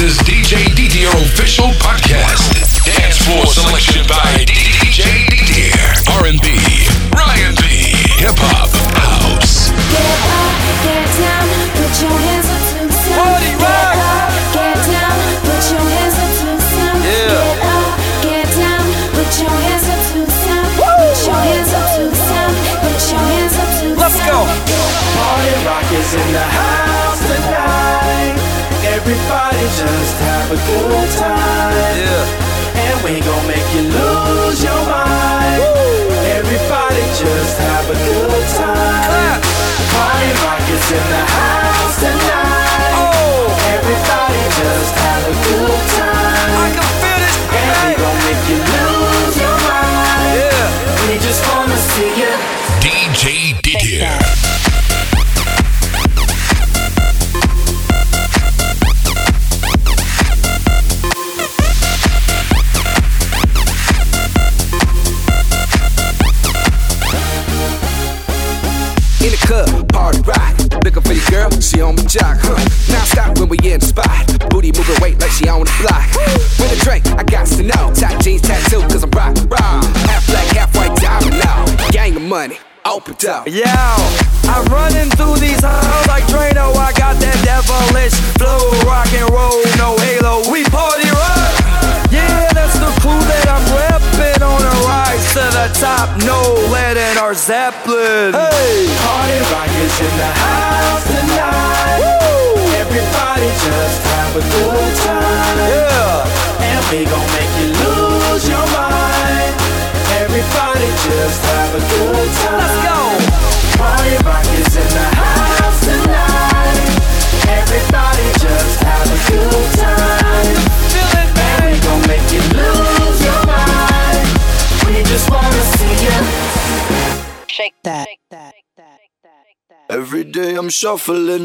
is DJ Didier official podcast. Dance floor selection by DJ Didier. R&B, Ryan B, hip hop, house. Get up, get down, put your hands up to the sound. Party rock. Get down, put your hands up to the sound. Yeah. Get up, get down, put your hands up to the sound. Put your hands up to the sound. Put your hands up to the Let's sound. go. Party rock is in the house tonight. Everybody just have a good time. Yeah. And we gon' make you lose your mind. Everybody just have a good time. Clap. Party rock is in the house tonight. Oh. Everybody just have a good time. I can feel this And we thing. gon' make you lose your mind. Yeah. We just wanna see you. DJ Didier. In the club, party rock. Looking for the girl, she on my jock, Now stop when we in the spot. Booty moving weight like she on the block. With a drink, I got to know. Tight jeans, tattoo, cause I'm rock, raw. Half black, half white, diamond now. Gang of money, open up. Yo, I'm running through these halls like Drano. I got that devilish flow, rock and roll, no halo. We party rock. Yeah, that's the crew that I'm reppin' on a rise to the top. No lead in our Zeppelin. Hey, Party rock is in the house tonight. Everybody just have a good time. yeah. And we gon' make you lose your mind. Everybody just have a good time. Let's go. Party rock is in the house tonight. Everybody just have a good time. Feel it, And we baby. gon' make you lose your mind. We just wanna see you. Shake that. Every day I'm shuffling.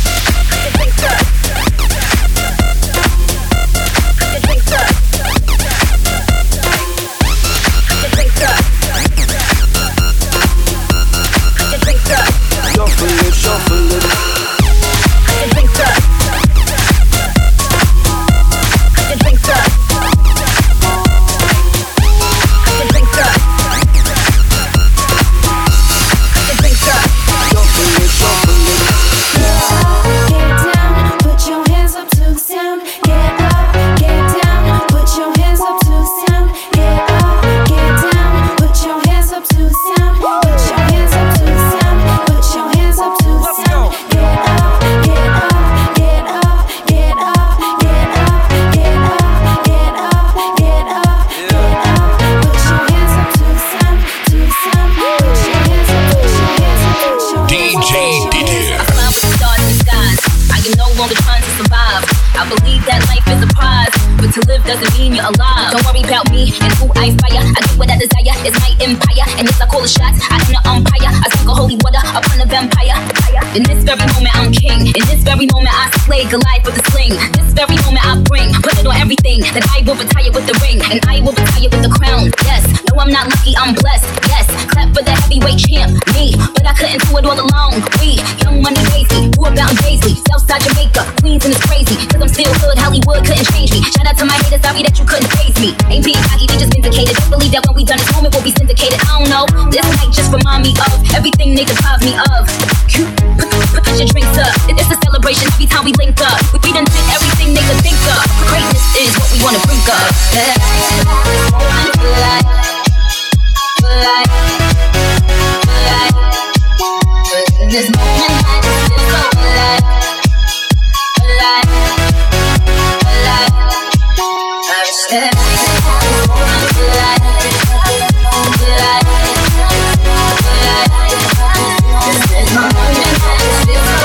Shuffling, shuffling. Shuffling, shuffling. Get down, put your hands up to the sound. Get up, get down, put your hands up to the sound. Get up, get down, put your hands up to the sound. Put your hands up to the sound. Put your hands up to the Let's sound. go. Get up, get up, get up, get up, get up, get up, get up, get up, get up. Put your hands up to the sound, to the sound. Put your hands up, put your hands up, put your hands up. DJ Didier. I fly with the stars in the skies. I am no longer trying to survive. I believe that life is a prize, but to live doesn't mean you're alive. Don't worry about me and who I inspire. I get what I desire, it's my empire. And yes, I call the shots, I am the umpire. I sprinkle holy water upon the vampire. In this very moment, I'm king. In this very moment, I slay Goliath with a sling. This very moment, I bring, put it on everything. That I will retire with the ring, and I will retire with the crown. Yes, no, I'm not lucky, I'm blessed. Yes, clap for the heavyweight champ, me. But I couldn't do it all alone. We, Young Money Lazy, who about in Paisley, Southside Jamaica, Queens, and it's crazy. Cause I'm still hood, Hollywood couldn't change me. Shout out to my haters, sorry that you couldn't phase me. Ain't being cocky, they just vindicated. Don't believe that when we done this moment, we'll be syndicated. I don't know, this might just remind me of everything they deprive me of. Put your drinks up, it's a celebration every time we link up. We done did everything they could think of. Greatness is what we wanna bring up. In this moment, I just feel so alive. I wish that this is my moment, I just feel so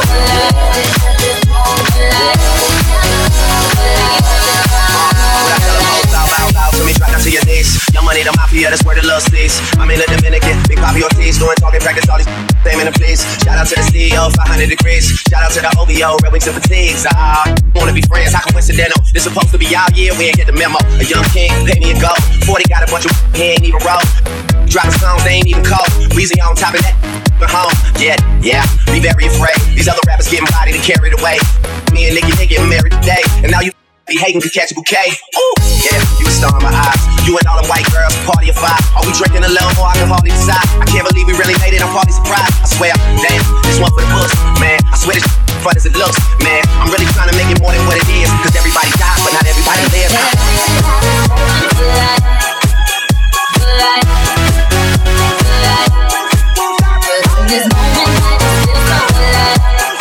Bow to me, drop down to your knees. Young Money, the mafia, that's where the love stays. I'm in the Dominican, big Bobby Ortiz, doing talking practice, all these fame in the please. Shout out to the CEO, 500 degrees. Shout out to the OVO, Red Wings and Fatigues. Wanna be friends, how coincidental? This supposed to be our year, we ain't get the memo. A young king, pay me a go. 40 got a bunch of he ain't even roll. Dropping songs, they ain't even cold. Weezy on top of that, but home. Yeah, be very afraid. These other rappers getting bodied and carried away. Me and Nicki getting married today, and now you Be hating to catch a bouquet. Ooh, yeah, you a star in my eyes. You and all the white girls, party of five. Are we drinking a little more? I can hardly decide. I can't believe we really made it. I'm partly surprised. I swear, damn, this one for the books, man. I swear this fun as it looks, man. I'm really trying to make it more than what it is. Cause everybody dies, but not everybody lives. This moment I just feel so alive.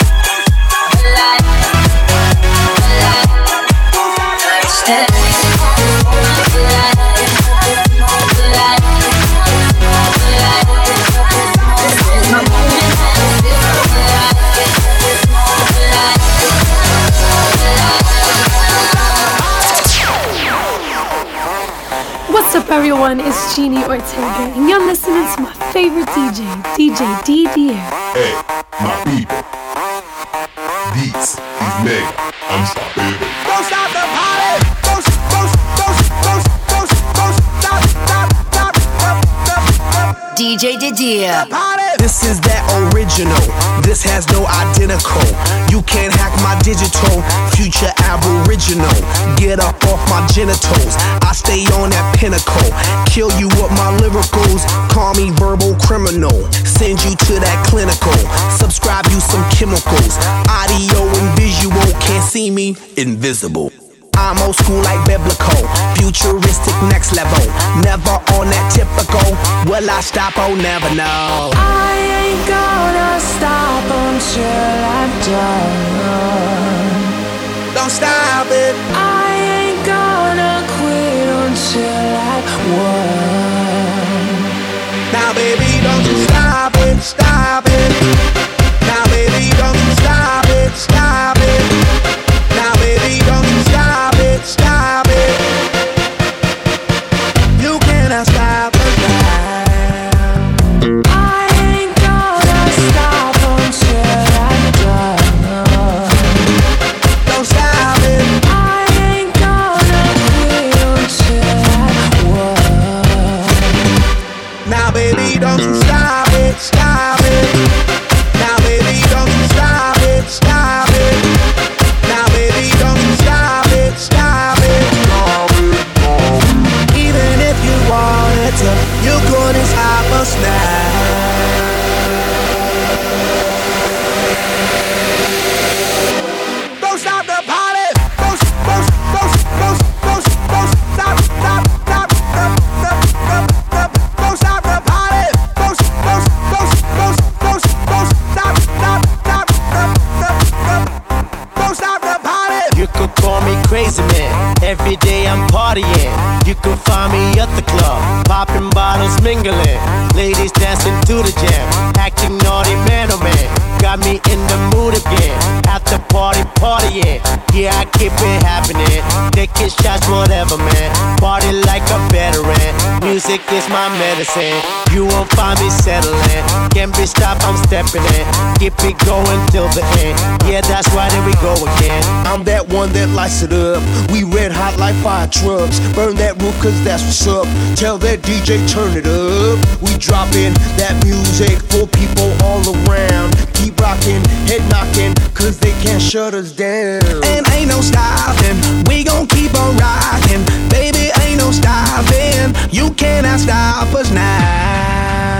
What's up, everyone? It's Jeannie Ortega, and you're listening to my favorite DJ, DJ DDR. Hey, my people. This is Mega. I'm stopping. Don't stop the party. Don't stop. DJ Didier. This is that original. This has no identical. You can't hack my digital. Future aboriginal. Get up off my genitals. I stay on that pinnacle. Kill you with my lyricals. Call me verbal criminal. Send you to that clinical. Subscribe you some chemicals. Audio and visual. Can't see me. Invisible. I'm old school like biblical, futuristic next level. Never on that typical. Will I stop? Oh, never know. I ain't gonna stop until I'm done. Don't stop it. I ain't gonna quit until I won. Now, baby, don't you stop it, stop it. Now, baby, don't you stop it, stop it. Now, baby, don't you stop it, stop it. You cannot stop us now. I ain't gonna stop until I'm done. Don't stop it. I ain't gonna quit until I won. Now, baby, don't you stop it, stop it. Now, baby, don't you stop it, stop it. Now, baby, don't you stop it, stop it. Even if you wanted to, you couldn't stop us now. Don't stop the party. Don't stop, don't stop the party. Don't stop the party. You could call me crazy man. Every day I'm partying. You can find me at the club, popping bottles, mingling. Ladies dancing to the jam, acting naughty man oh man. Got me in the mood again. After party, partying. Yeah, I keep it happening. Taking shots, whatever man. Party like a veteran. Music is my medicine. You won't find me settling. Can't be stopped, I'm stepping in. Keep it going till the end. Yeah, that's why there we go again. I'm that one that lights it up. We red hot like fire trucks. Burn that roof cause that's what's up. Tell that DJ turn it up. We dropping that music for people all around. Keep rocking, head knocking, cause they can't shut us down. And ain't no stopping, we gon' keep on rocking. Baby, ain't no stopping, you cannot stop us now.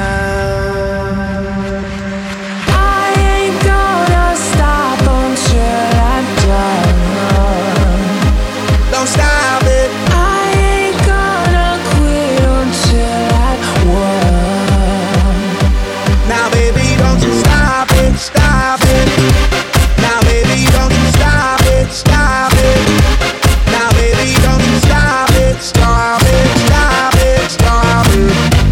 I ain't gonna stop until I'm done. Don't stop it. I ain't gonna quit until I won. Now, baby, don't you stop it, stop it. Now, baby, don't you stop it, stop it. Now, baby, don't you stop it, stop it, stop it, stop it.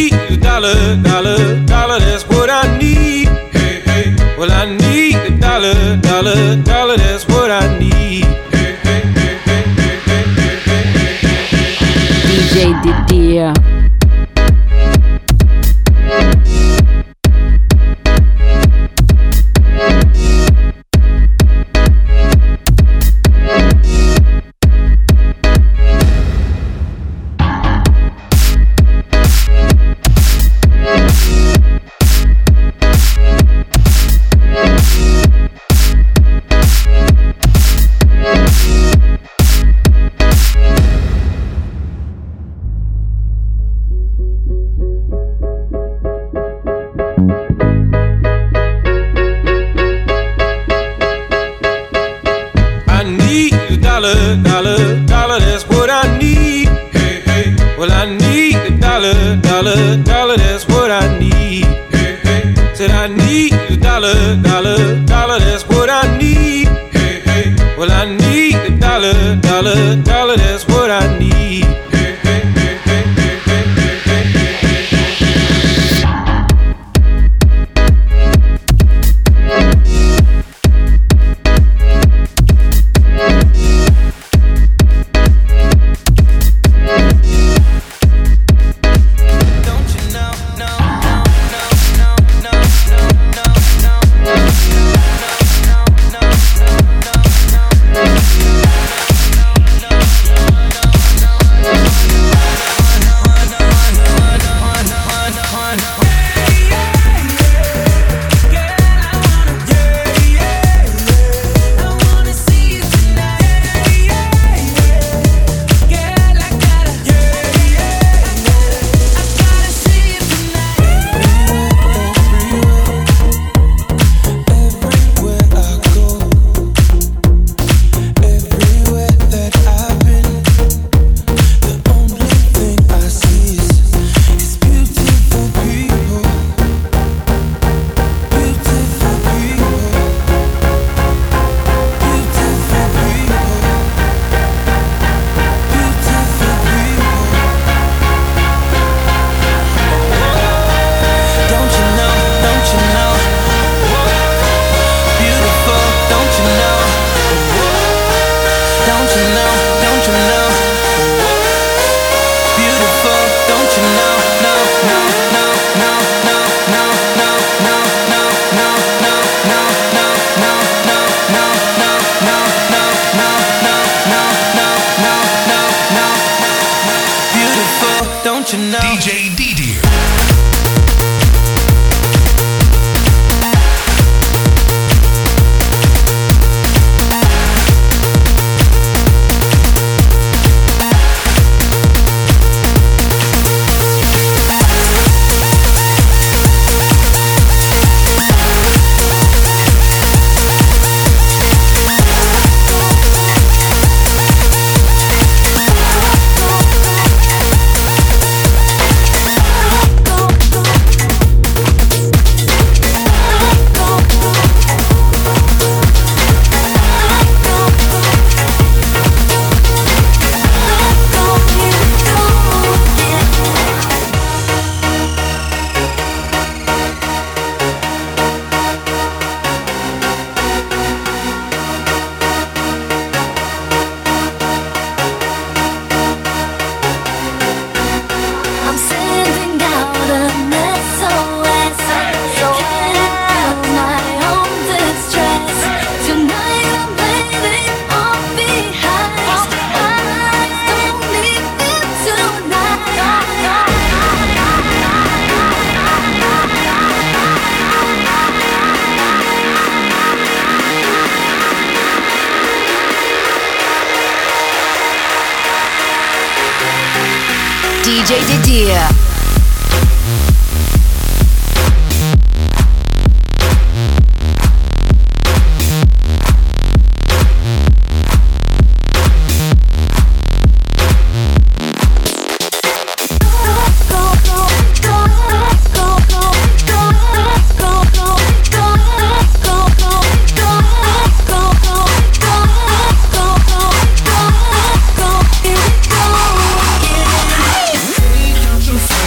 need a dollar, dollar, dollar, that's what I need. Hey, hey. Well, I need a dollar, dollar, dollar, that's what I need. Hey, hey, hey, hey, hey, hey, hey, hey, hey. DJ Didier. DJ Didier. DJ Didier. You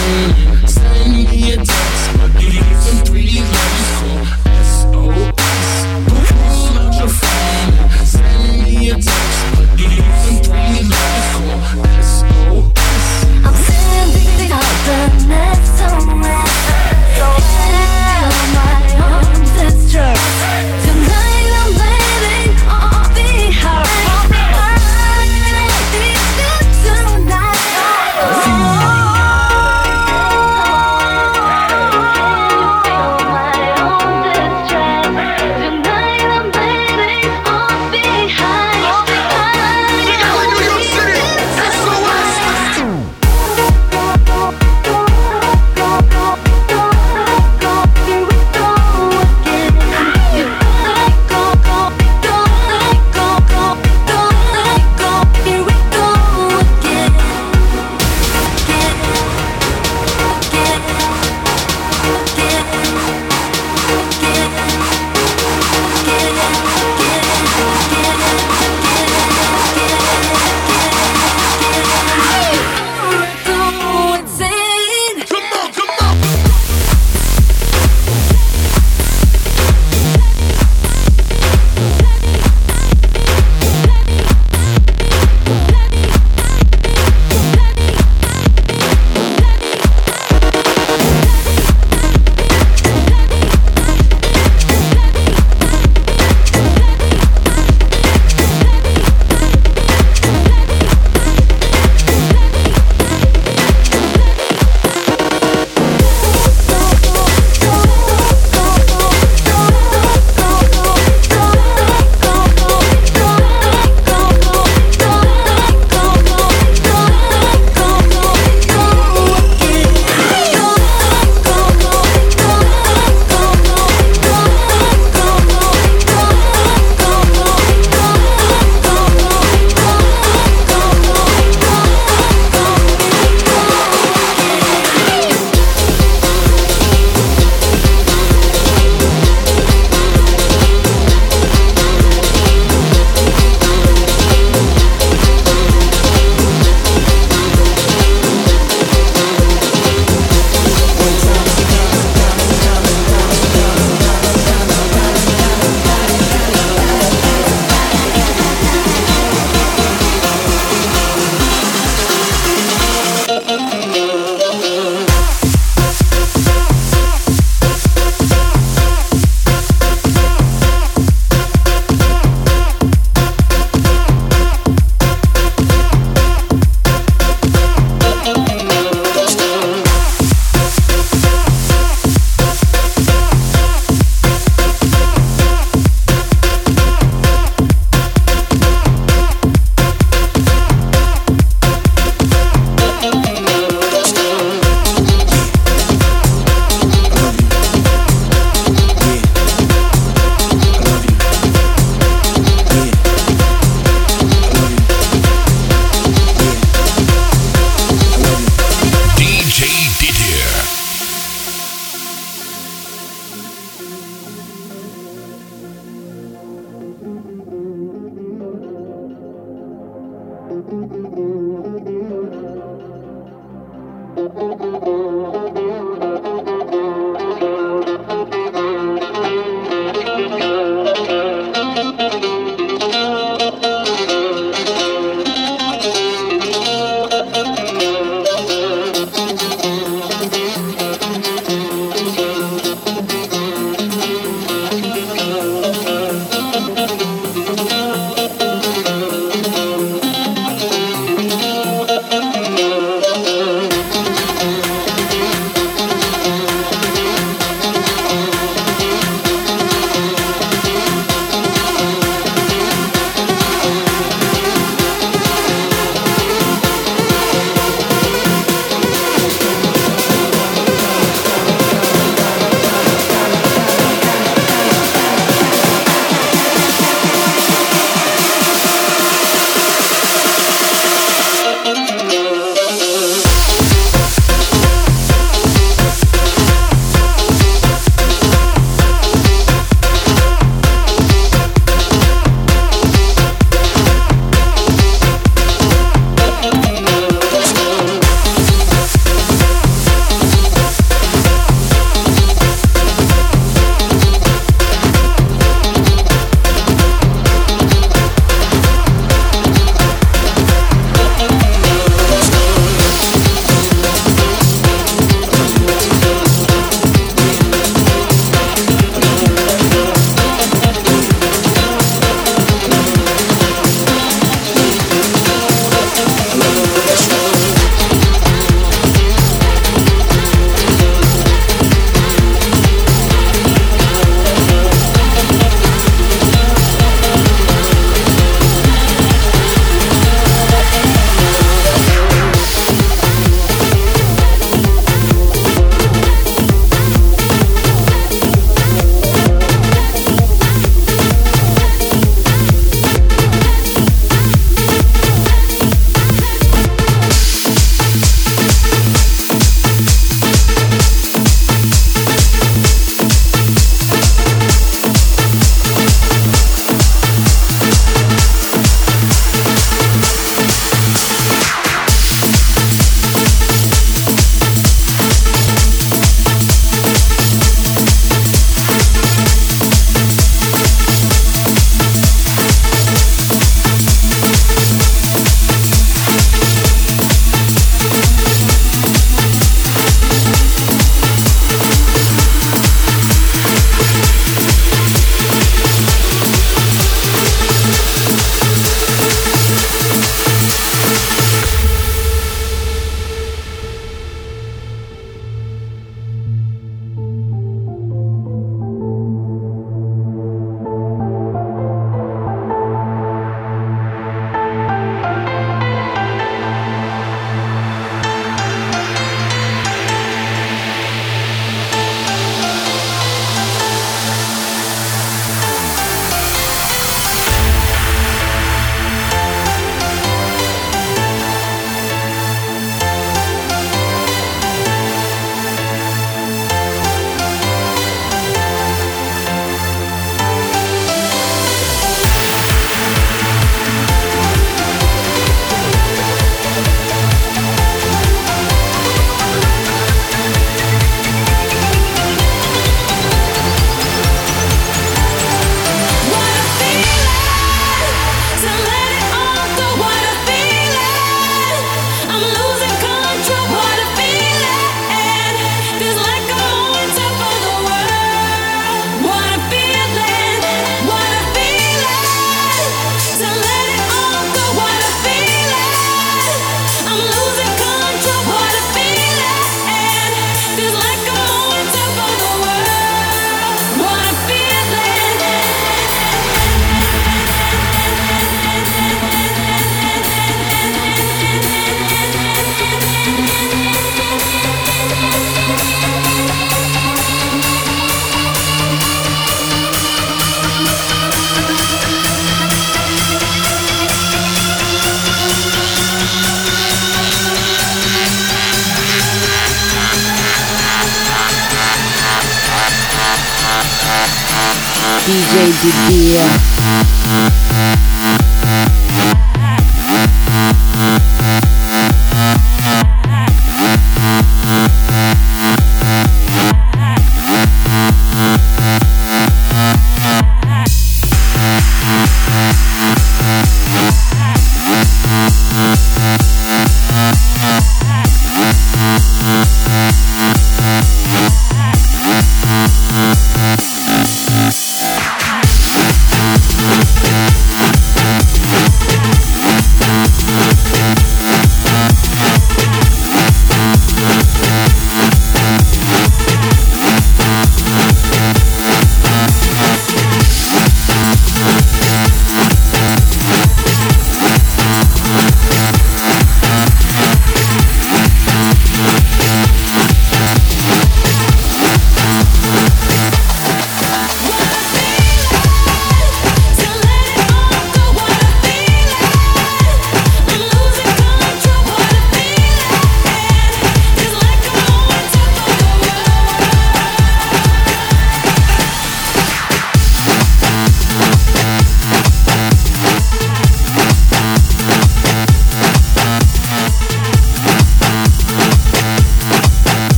DJ Didier.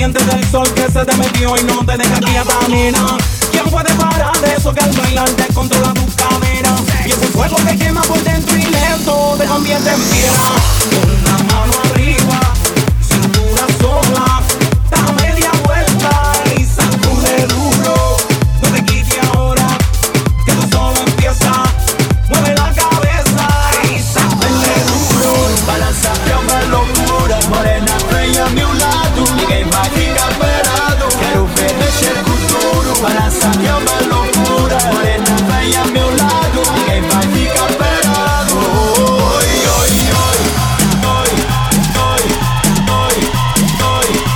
caliente del sol que se te metió y no te deja quieta, nena. ¿Quién puede parar eso que al bailar te controla tu cadera? Y ese fuego que quema por dentro y lento te convierte en piedra. Con la mano arriba, cintura sola, da media vuelta y sacude duro. No te quites ahora, que tú solo empiezas. Mueve la cabeza y sacude duro. Balanza, llama locura, morena, vem a meu lado. Ninguém vai ficar parado, quero ver mexer com tudo. Balança, llama loucura, morena, vem a meu lado. Ninguém vai ficar parado. Oi, oi, oi, oi, oi, oi, oi.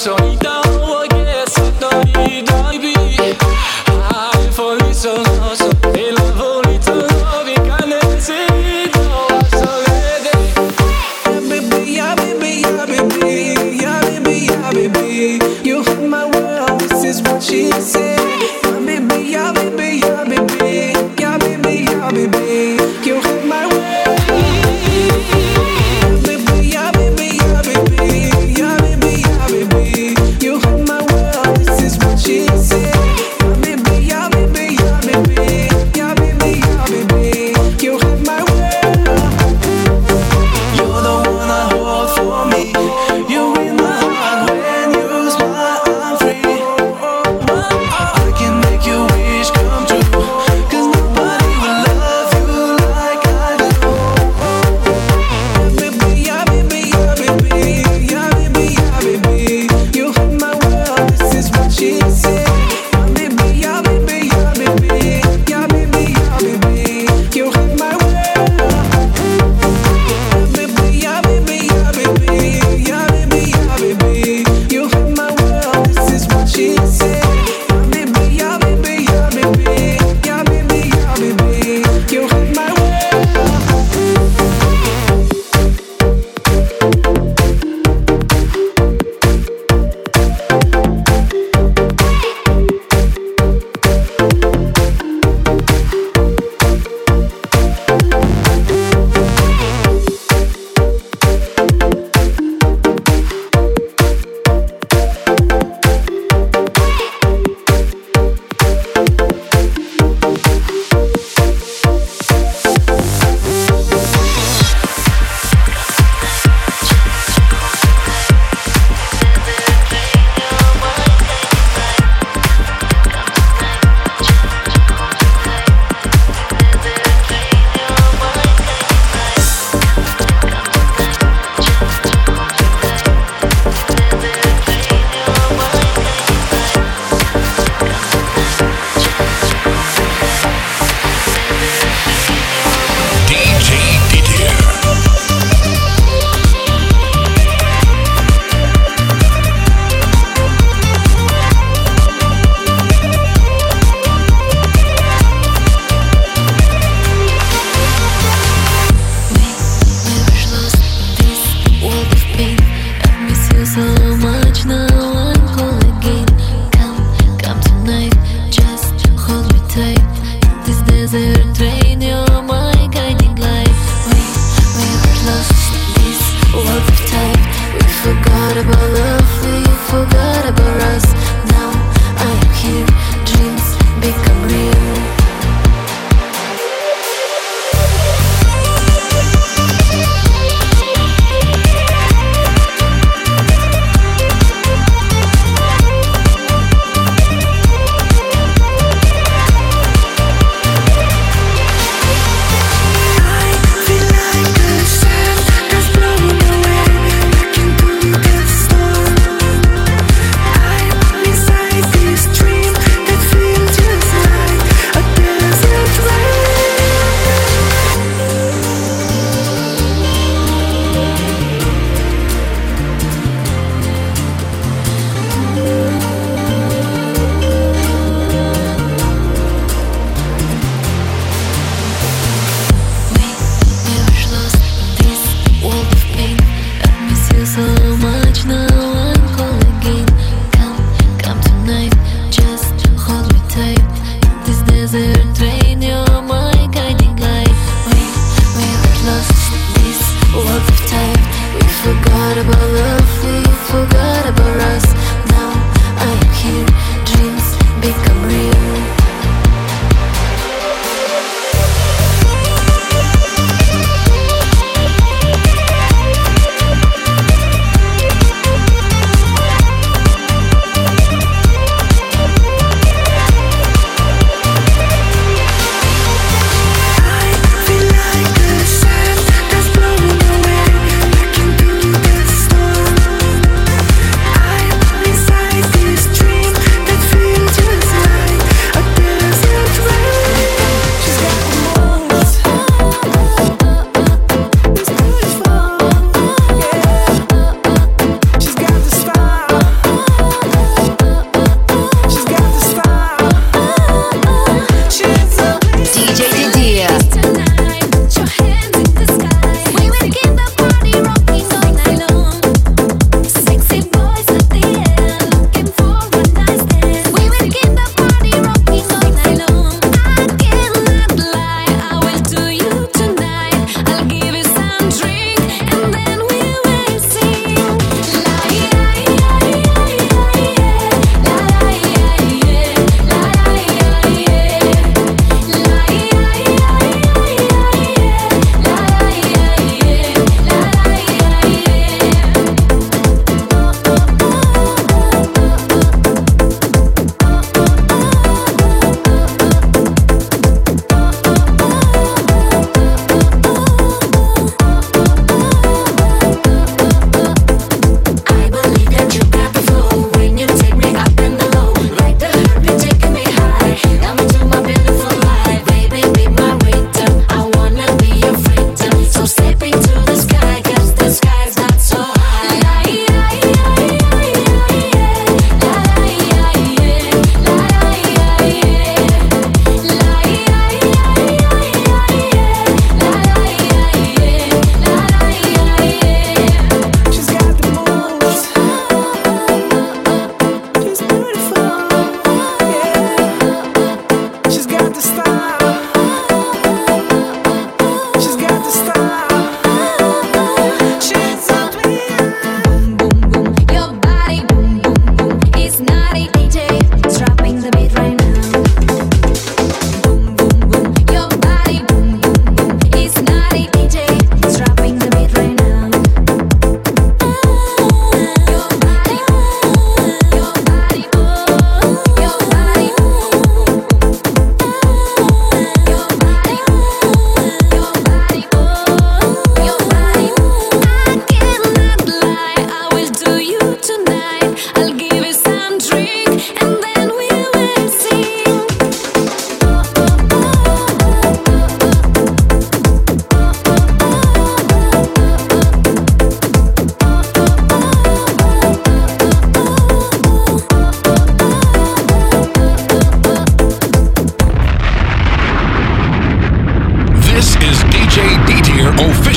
solita, porque sono baby. Hai felice nosso, e la volita novi canecito a solede. Yeah baby, yeah baby, yeah baby, yeah baby, yeah baby. You hit my world, this is what she said. Yeah baby, yeah baby, yeah baby, yeah baby, yeah baby. You hit my world. You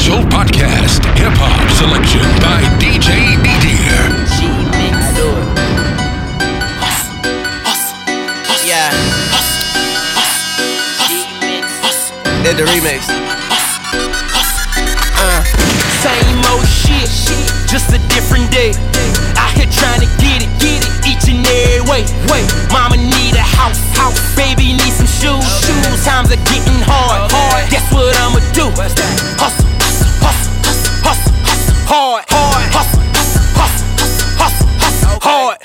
Official Podcast. Hip Hop Selection by DJ Didier. Yeah. Did the remix. Same old shit, just a different day. Out here trying to get it each and every way. Mama need a house, baby need some shoes. Times are getting hard. Guess what I'ma do? Hustle, hard, hustle, hard,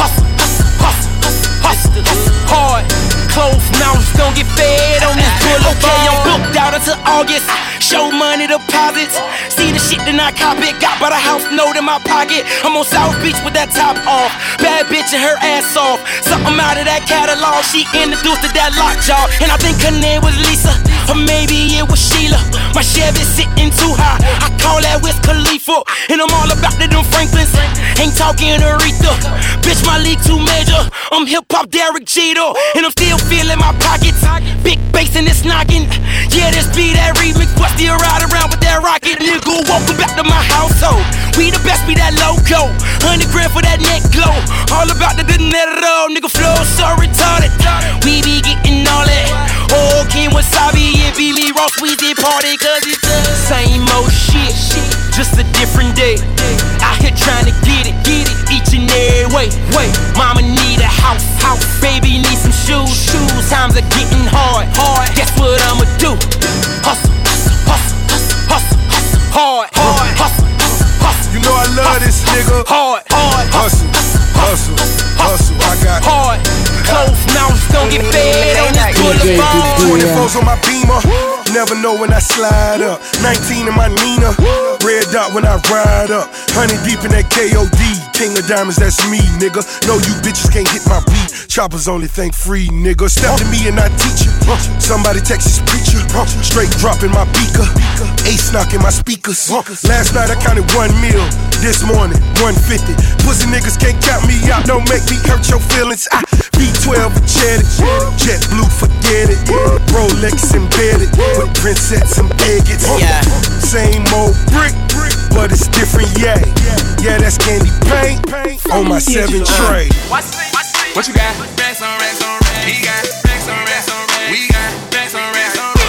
hard. Closed mouths don't get fed on this boulevard. Okay, I'm booked out until August. Show money deposits. See the shit then I cop it. Got by the house note in my pocket. I'm on South Beach with that top off. Bad bitch and her ass off. Something out of that catalog. She introduced to that lockjaw. And I think her name was Lisa, or maybe it was Sheila. My Chevy sitting too high. I call that Wiz Khalifa. And I'm all about them Franklins. Ain't talking Aretha. Bitch, my league too major. I'm hip-hop Derek Jeter. And I'm still feeling my pockets. Big bass and it's knocking. Yeah, this be that remix. But still ride around with that rocket. Nigga, welcome back to my household. We the best, be that logo. 100 grand for that neck glow. All about the dinero. Nigga flow so retarded. We be getting all that. Oh, King Wasabi and be me Ross Weezy party. Cause it's the same old shit, just a different day. Out here trying to get it each and every way. Mama need a house, baby need some shoes. Times are getting hard. Guess what I'ma do? Hustle, hard, hustle. You know I love this nigga. Hard, hustle. I got hard. Closed mouths don't get fed on this boulevard. 24's on my Beamer. Never know when I slide up. 19 in my Nina. Red dot when I ride up. 100 deep in that KOD. King of diamonds, that's me, nigga. No, you bitches can't hit my beat. Choppers only think free, nigga. Step to me and I teach you. Somebody Texas preacher. Straight dropping my beaker. Ace knocking my speakers. Last night I counted 1 meal. This morning, 150. Pussy niggas can't count me out. Don't make me hurt your feelings. B12 jetted. Jet blue, forget it. Rolex embedded. With princess and bigots. Same old brick, but it's different, yeah. Yeah, that's candy paint on my 7 tray. What you got? Racks on racks on racks. He got racks on racks on racks. We got racks on racks on racks.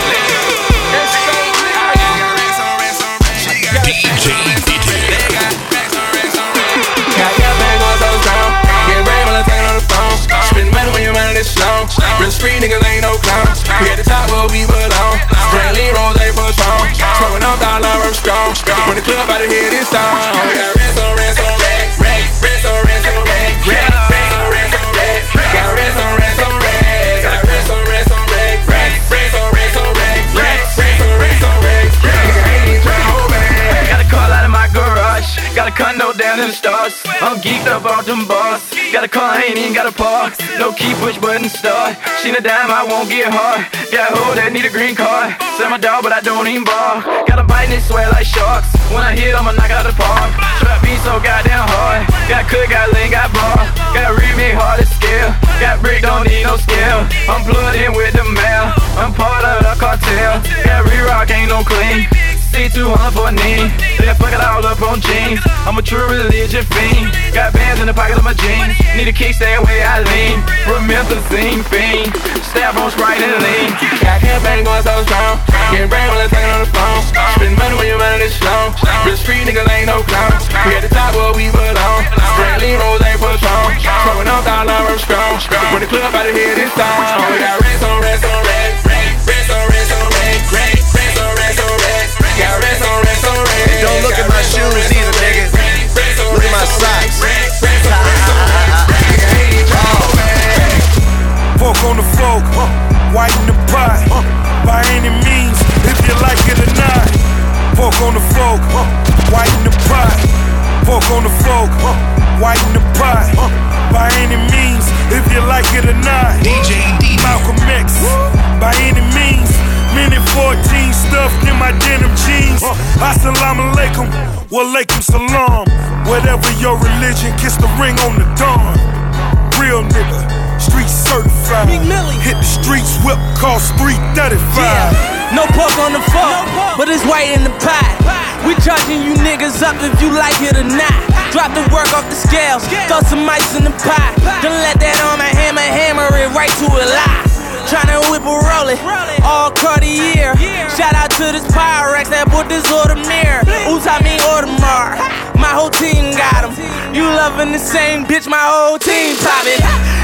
DJ They got racks on racks on racks. Got your bang on so strong. Get ready when I take it on the phone. Spend money when you're running this slow. Real street niggas ain't no clowns. We at the top where we belong. Straight Rose ain't for strong. Smoking up dollar, I'm strong. When the club out of here this song. We got racks on racks on racks. Racks on racks on racks. Racks on racks on racks. Got racks on racks on racks. Got racks on racks on racks. Racks on racks on racks. Racks on racks on racks. Nigga ain't even tryna hold back. Got a car out of my garage. Got a condo down in the stars. I'm geeked up off them bars. Got a car, ain't even got a park. No key, push button, start. She a dime, I won't get hard. Got a hoe that need a green card. Sell my dog, but I don't even bar. Got a bite and it sweat like sharks. When I hit, I'ma knock out the park. Trap beat so goddamn hard. Got cook, got lean, got bar. Got remake hard to scale. Got brick, don't need no scale. I'm plugged in with the mail. I'm part of the cartel. Got re-rock, ain't no clean. C200 for a knee. Then fuck it all up on jeans. I'm a true religion fiend. Got bands in the pocket of my jeans. Need a kick, stay away, I lean. Promethazine fiend. Stab on Sprite and lean. Got campaign going so strong. Getting brain when I take it on the phone. Spend money when you're running this slow. Real street niggas ain't no clowns. We at the top where we belong. Straight Rose ain't for strong. Smoking up dollar, I'm strong. When the club out of here this song. We got racks on racks on racks. Racks on racks on racks. Racks on racks on racks. Got racks on racks on racks. And don't look at my shoes either, nigga. Look at my socks. Fork on the fork, whiten the pie. By any means, if you like it or not. Fork on the fork, whiten the pie. Fork on the fork, whiten the pie. By any means, if you like it or not. DJ Malcolm X, by any means. Minute 14 stuffed in my denim jeans. Assalamu alaikum, walaikum salam. Whatever your religion, kiss the ring on the dawn. Real nigga, street certified. Hit the streets, whip cost $335. No pork on the fork, but it's white in the pot. We charging you niggas up if you like it or not. Drop the work off the scales, throw some ice in the pot. Then let that on my hammer it right to a lie. Tryna whip a roll it, all Cartier. Shout out to this Pyrex that bought this Audemars. Oops, I mean Audemars. My whole team got 'em. You loving the same bitch, my whole team poppin'.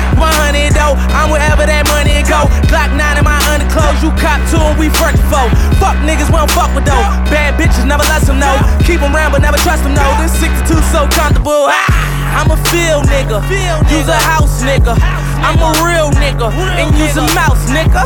100 though, I'm wherever that money go. Glock 9 in my underclothes, you cop 2 and we first foe. Fuck niggas, we don't fuck with though. Bad bitches, never let them know. Keep them round but never trust them though. This 62 so comfortable. I'm a field nigga, use a house nigga. I'm a real nigga, and use a mouse nigga.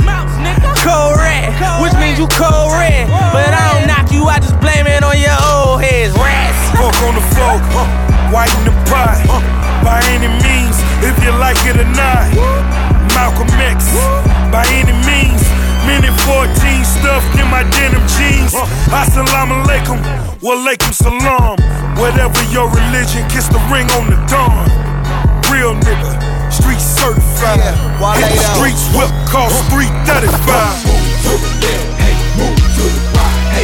Cold red, which means you cold red. But I don't knock you, I just blame it on your old heads. Rats. Fuck on the floor, whiten the pot. By any means, if you like it or not. Malcolm X, by any means. Minute 14 stuffed in my denim jeans. Assalamu alaikum, walaikum salam. Whatever your religion, kiss the ring on the dawn. Real nigga, street certified. Hit the streets, whip cost $335. Move to the left, hey, move to the right, hey,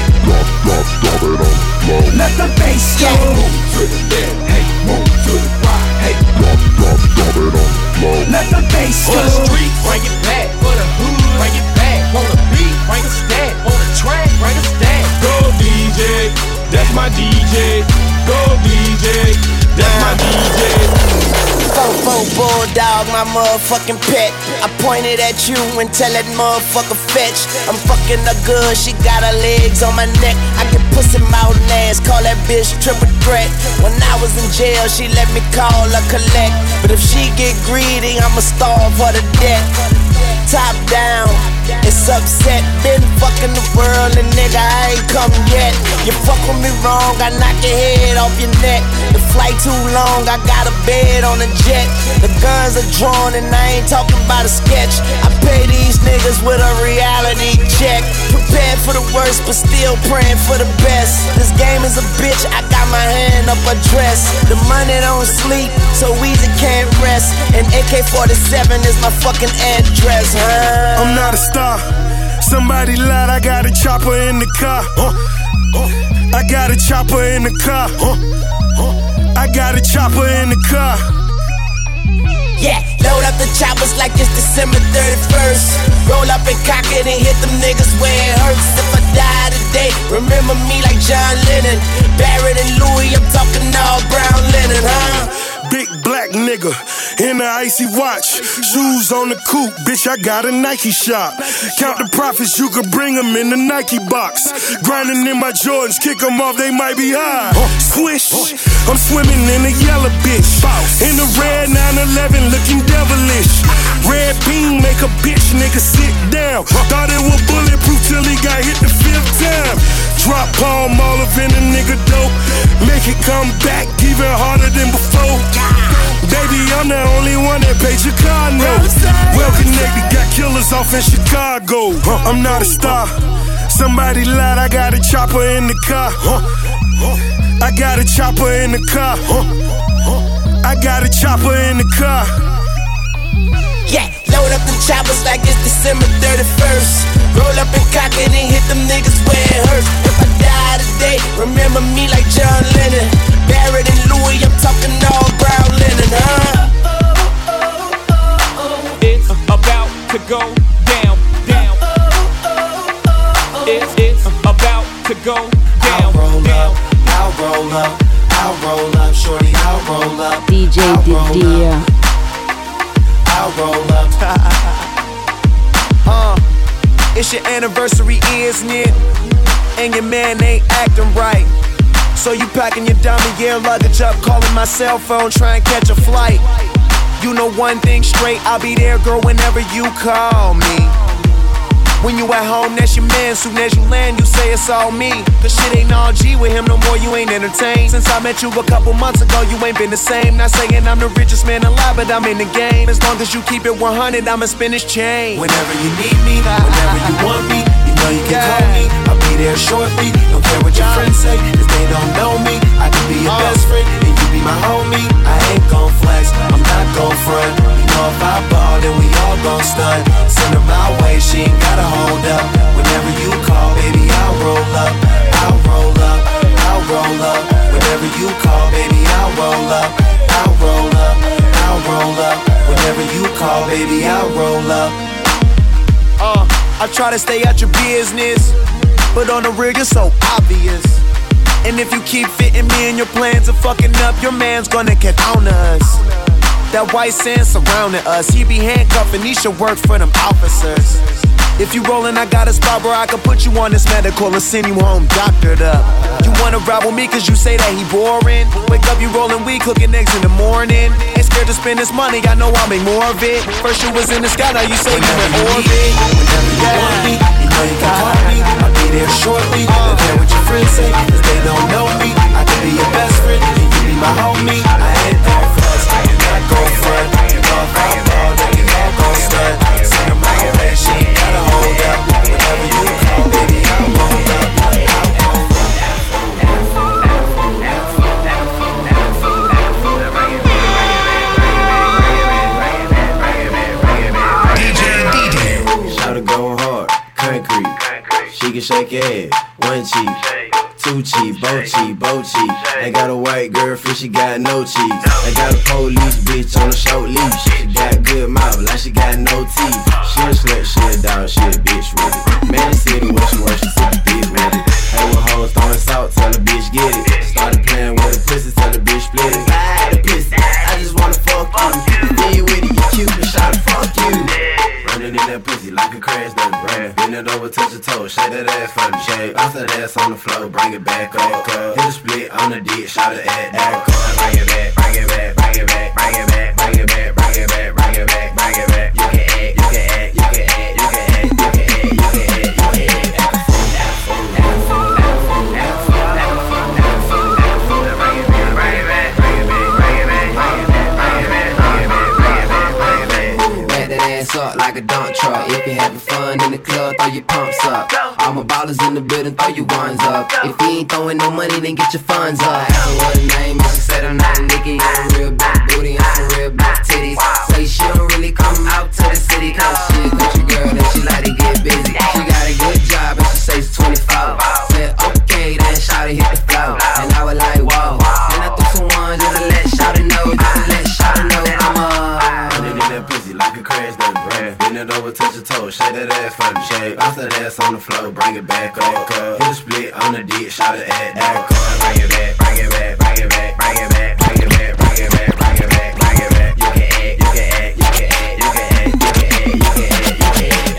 drop it on the floor. Let the bass go. Move to the left, hey, move to the right, hey, drop it on the floor. Let the bass go. On the street, bring it back. For the hood, bring it back. On the beat, bring a stack. On the track, bring a stack. Go DJ, that's my DJ. Go DJ, that's my DJ. Fofo bulldog, my motherfucking pet. I pointed at you and tell that motherfucker fetch. I'm fucking her good, she got her legs on my neck. I get pussy mouth and ass, call that bitch triple threat. When I was in jail, she let me call her collect. But if she get greedy, I'ma starve her to death. Top down, it's upset. Been fucking the world and nigga, I ain't come yet. You fuck with me wrong, I knock your head off your neck. The flight too long, I got a bed on a jet. The guns are drawn and I ain't talking about a sketch. I pay these niggas with a reality check. Prepared for the worst, but still praying for the best. This game is a bitch, I got my hand up a dress. The money don't sleep, so easy can't rest. And AK-47 is my fucking address. I'm not a star. Somebody lied, I got a chopper in the car. I got a chopper in the car. I got a chopper in the car. Yeah, load up the choppers like it's December 31st. Roll up and cock it and hit them niggas where it hurts. If I die today, remember me like John Lennon. Barrett and Louis, I'm talking all brown linen, huh? Big black nigga in the icy watch. Shoes on the coupe, bitch, I got a Nike shop. Count the profits, you could bring them in the Nike box. Grinding in my Jordans, kick them off, they might be high. Swish, I'm swimming in the yellow bitch. In the red 911, looking devilish. Red beam make a bitch nigga sit down. Thought it was bulletproof till he got hit the 5th time. Drop palm olive in a nigga dope. Make it come back even harder than before. Baby, I'm the only one that paid your car note. Well connected, got killers off in Chicago. I'm not a star. Somebody lied, I got a chopper in the car. I got a chopper in the car. I got a chopper in the car. Yeah, load up the choppers like it's December 31st. Roll up and cock it and hit them niggas where it hurts. If I die today, remember me like John Lennon. Barrett and Louis, I'm talking all brown linen, huh? It's about to go down, down. It's about to go down, down. I'll roll up, I'll roll up, shorty, I'll roll up. DJ Didier. I'll roll up. It's your anniversary, isn't it? And your man ain't acting right. So you packing your dummy gear luggage up, calling my cell phone, trying to catch a flight. You know one thing straight, I'll be there, girl, whenever you call me. When you at home, that's your man. Soon as you land, you say it's all me. Cause shit ain't all G with him no more, you ain't entertained. Since I met you a couple months ago, you ain't been the same. Not saying I'm the richest man alive, but I'm in the game. As long as you keep it 100, I'ma spin this chain. Whenever you need me, whenever you want me, you know you can call me. I'll be there shortly. Don't care what your friends say, cause they don't know me. I can be your best friend, and you be my homie. I ain't gon' flex, I'm not gon' front. You know if I ball, then we all gon' stunt. Send her my way, she ain't gotta hold up. Whenever you call to stay out your business, but on the real, you're so obvious. And if you keep fitting me in your plans of fucking up, your man's gonna get on us. That white sand surrounding us, he be handcuffing, he should work for them officers. If you rollin', I got a spot where I can put you on this medical and send you home doctored up. You wanna ride with me cause you say that he boring. Wake up, you rollin' weed, cooking eggs in the morning. Ain't scared to spend this money, I know I'll make more of it. First you was in the sky, now you say you in orbit. Whenever you want me, you know you can call me. I'll be there shortly. Don't care what your friends say, cause they don't know me. I can be your best friend, and you be my homie. I ain't there first, you not go front. You know if I fall, then you not go stud. Send her my way, she ain't gotta hold up. Whenever you call, baby, I'll hold up. Shout it going hard, concrete. She can shake your head, one cheek, two cheek, both cheek. I got a white girl, she got no cheeks. I got a police bitch on a short leash. She got good mouth, like she got no teeth. She a slut, she a dog, she a bitch with it. Man, the city where she works, she super big with it. Hey, with hoes throwing salt, tell the bitch get it. Started playing with the pussy, tell the bitch split it. Buy the pussy, I just wanna fuck you. Then you with it, you cute, but shout fuck you. Running in that pussy like a crash dummy. Bend it over, touch your toes, shake that ass for me. Shake, bounce that ass on the floor, bring it back up. Hit a split on the dick, shout it at that. Bring it back, bring it back, bring it back, bring it back, bring it back, bring it back, bring it back, bring it back. You can act, you can act, you can act, you can act, you can act, you can act, you can act. Up like a dump truck. If you're having fun in the club, throw your pumps up. All my ballers in the building, throw your ones up. If you ain't throwing no money, then get your funds up. Ask her what her name is, she said her name Nikki. On a real big booty and some real big titties. Say she don't really come out to the city, cause she a country girl and she like to get busy. She got a good job and she says 24. Said okay, then shawty hit the floor. And I was like, whoa. And I threw some ones just to let shawty know, just to let shawty know I'm running in that pussy like a crash dummy. Bend it over, touch your toes, shake that ass for me. Shake, bounce that ass on the floor, bring it back up. Hit a split on the dick, shout it at that. Bring it back, bring it back, bring it back, bring it back, bring it back, bring it back, bring it back, bring it back. You can act, you can act, you can act, you can act, you can act, you can act, you can act.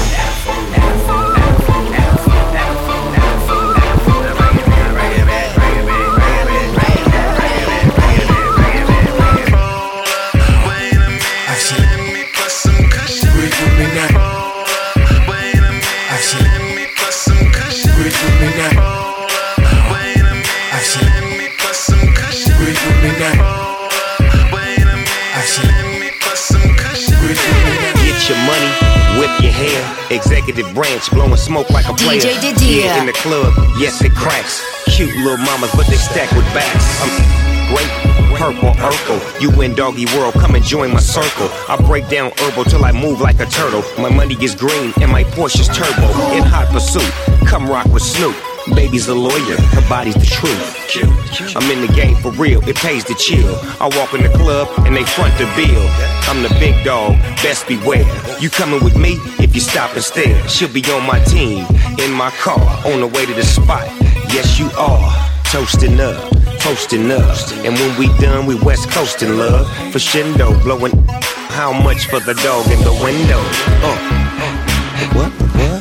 Your money, whip your hair. Executive branch blowing smoke like a player. DJ Didier. Yeah, in the club, yes it cracks. Cute little mamas, but they stack with backs. I'm great, purple, Urkel. You in doggy world, come and join my circle. I break down herbal till I move like a turtle. My money is green and my Porsche's turbo. In hot pursuit, come rock with Snoop. Baby's a lawyer, her body's the truth. I'm in the game for real, it pays to chill. I walk in the club and they front the bill. I'm the big dog, best beware. You coming with me if you stop and stare. She'll be on my team, in my car, on the way to the spot. Yes, you are, toasting up. And when we done, we West Coastin' love. For Shindo, blowing how much for the dog in the window? What?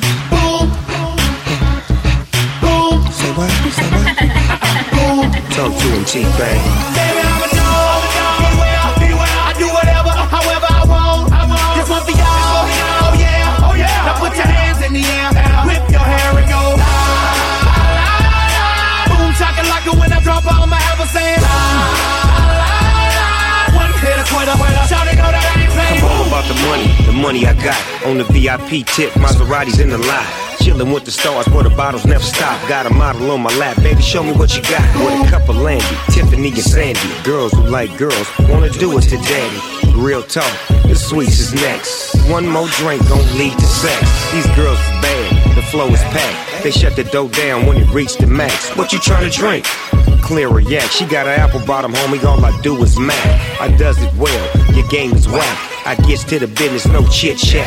Say what? Talk to him, T-Bang. Baby, I'm a dog, I do whatever, however I want. This one for y'all, oh yeah. Now put your hands in the air, whip your hair and go la, la, la. Boom, chakalaka when I drop, I'ma have a saying la, la, la. One hit a quitter, shout it, know that I ain't playing. I'm all about the money I got. On the VIP tip, Maseratis in the lot. Chillin' with the stars where the bottles never stop. Got a model on my lap, baby, show me what you got. With a cup of Landy, Tiffany and Sandy. Girls who like girls, wanna do it to daddy. Real talk, the sweets is next. One more drink gon' lead to sex. These girls is bad, the flow is packed. They shut the door down when it reach the max. What you tryna drink? Clear yak, she got an apple bottom, homie, all I do is mac. I does it well, your game is whack. I gets to the business, no chit chat.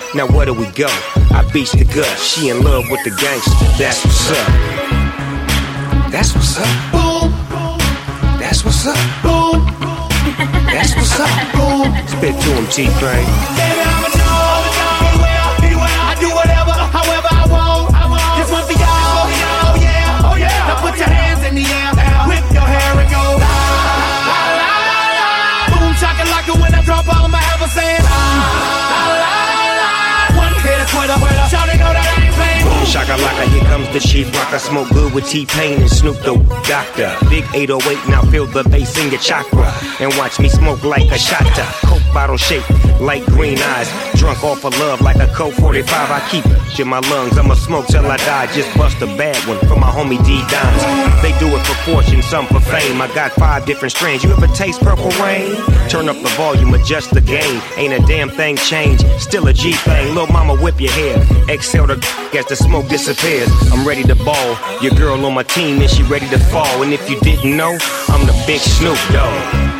Now where do we go? I beats the gut. She in love with the gangster. That's what's up. That's what's up. Boom. That's what's up. Boom. That's what's up. Boom. Spit to him, T-Pain. Baby, I'm a dog, beware. I do whatever, however I want. This one for y'all. Oh yeah, oh yeah. Now put your hands in the air, whip your hair and go. La, la, la, la. Boom, shakalaka when I drop, I'ma have a saying. La, la, la. One hit a quitter, shout it, know that I ain't playing. Shakalaka, here comes the chief rock. I smoke good with T-Pain and Snoop the Doctor. Big 808, now feel the bass in your chakra. And watch me smoke like a shotta. Coke bottle shaped like green eyes. Drunk off of love like a Coke 45. I keep it in my lungs. I'ma smoke till I die. Just bust a bad one for my homie D-Dimes. They do it for fortune, some for fame. I got 5 different strains. You ever taste Purple Rain? Turn up the volume, adjust the gain. Ain't a damn thing changed. Still a G-thing. Lil' mama whip your hair. Exhale the as the smoke disappears. I'm ready to ball. Your girl on my team and she ready to fall. And if you didn't know, I'm the big Snoop Dogg.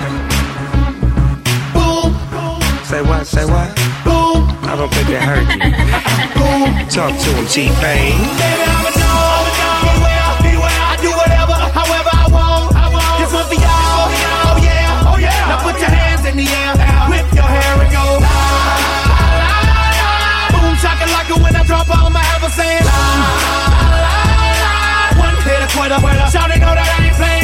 Boom. Say what? Say what? Boom. I don't think they heard you. Boom. Talk to him, T-Pain. Baby, I'm a dog, beware. I do whatever, however I want. This one for y'all. Oh yeah, oh yeah. Now put your hands in the air, whip your hair and go. La, la, la. Boom, shakalaka when I drop, I'ma have a saying. La, la, la. One hit a quitter, shout it, know that I ain't playing.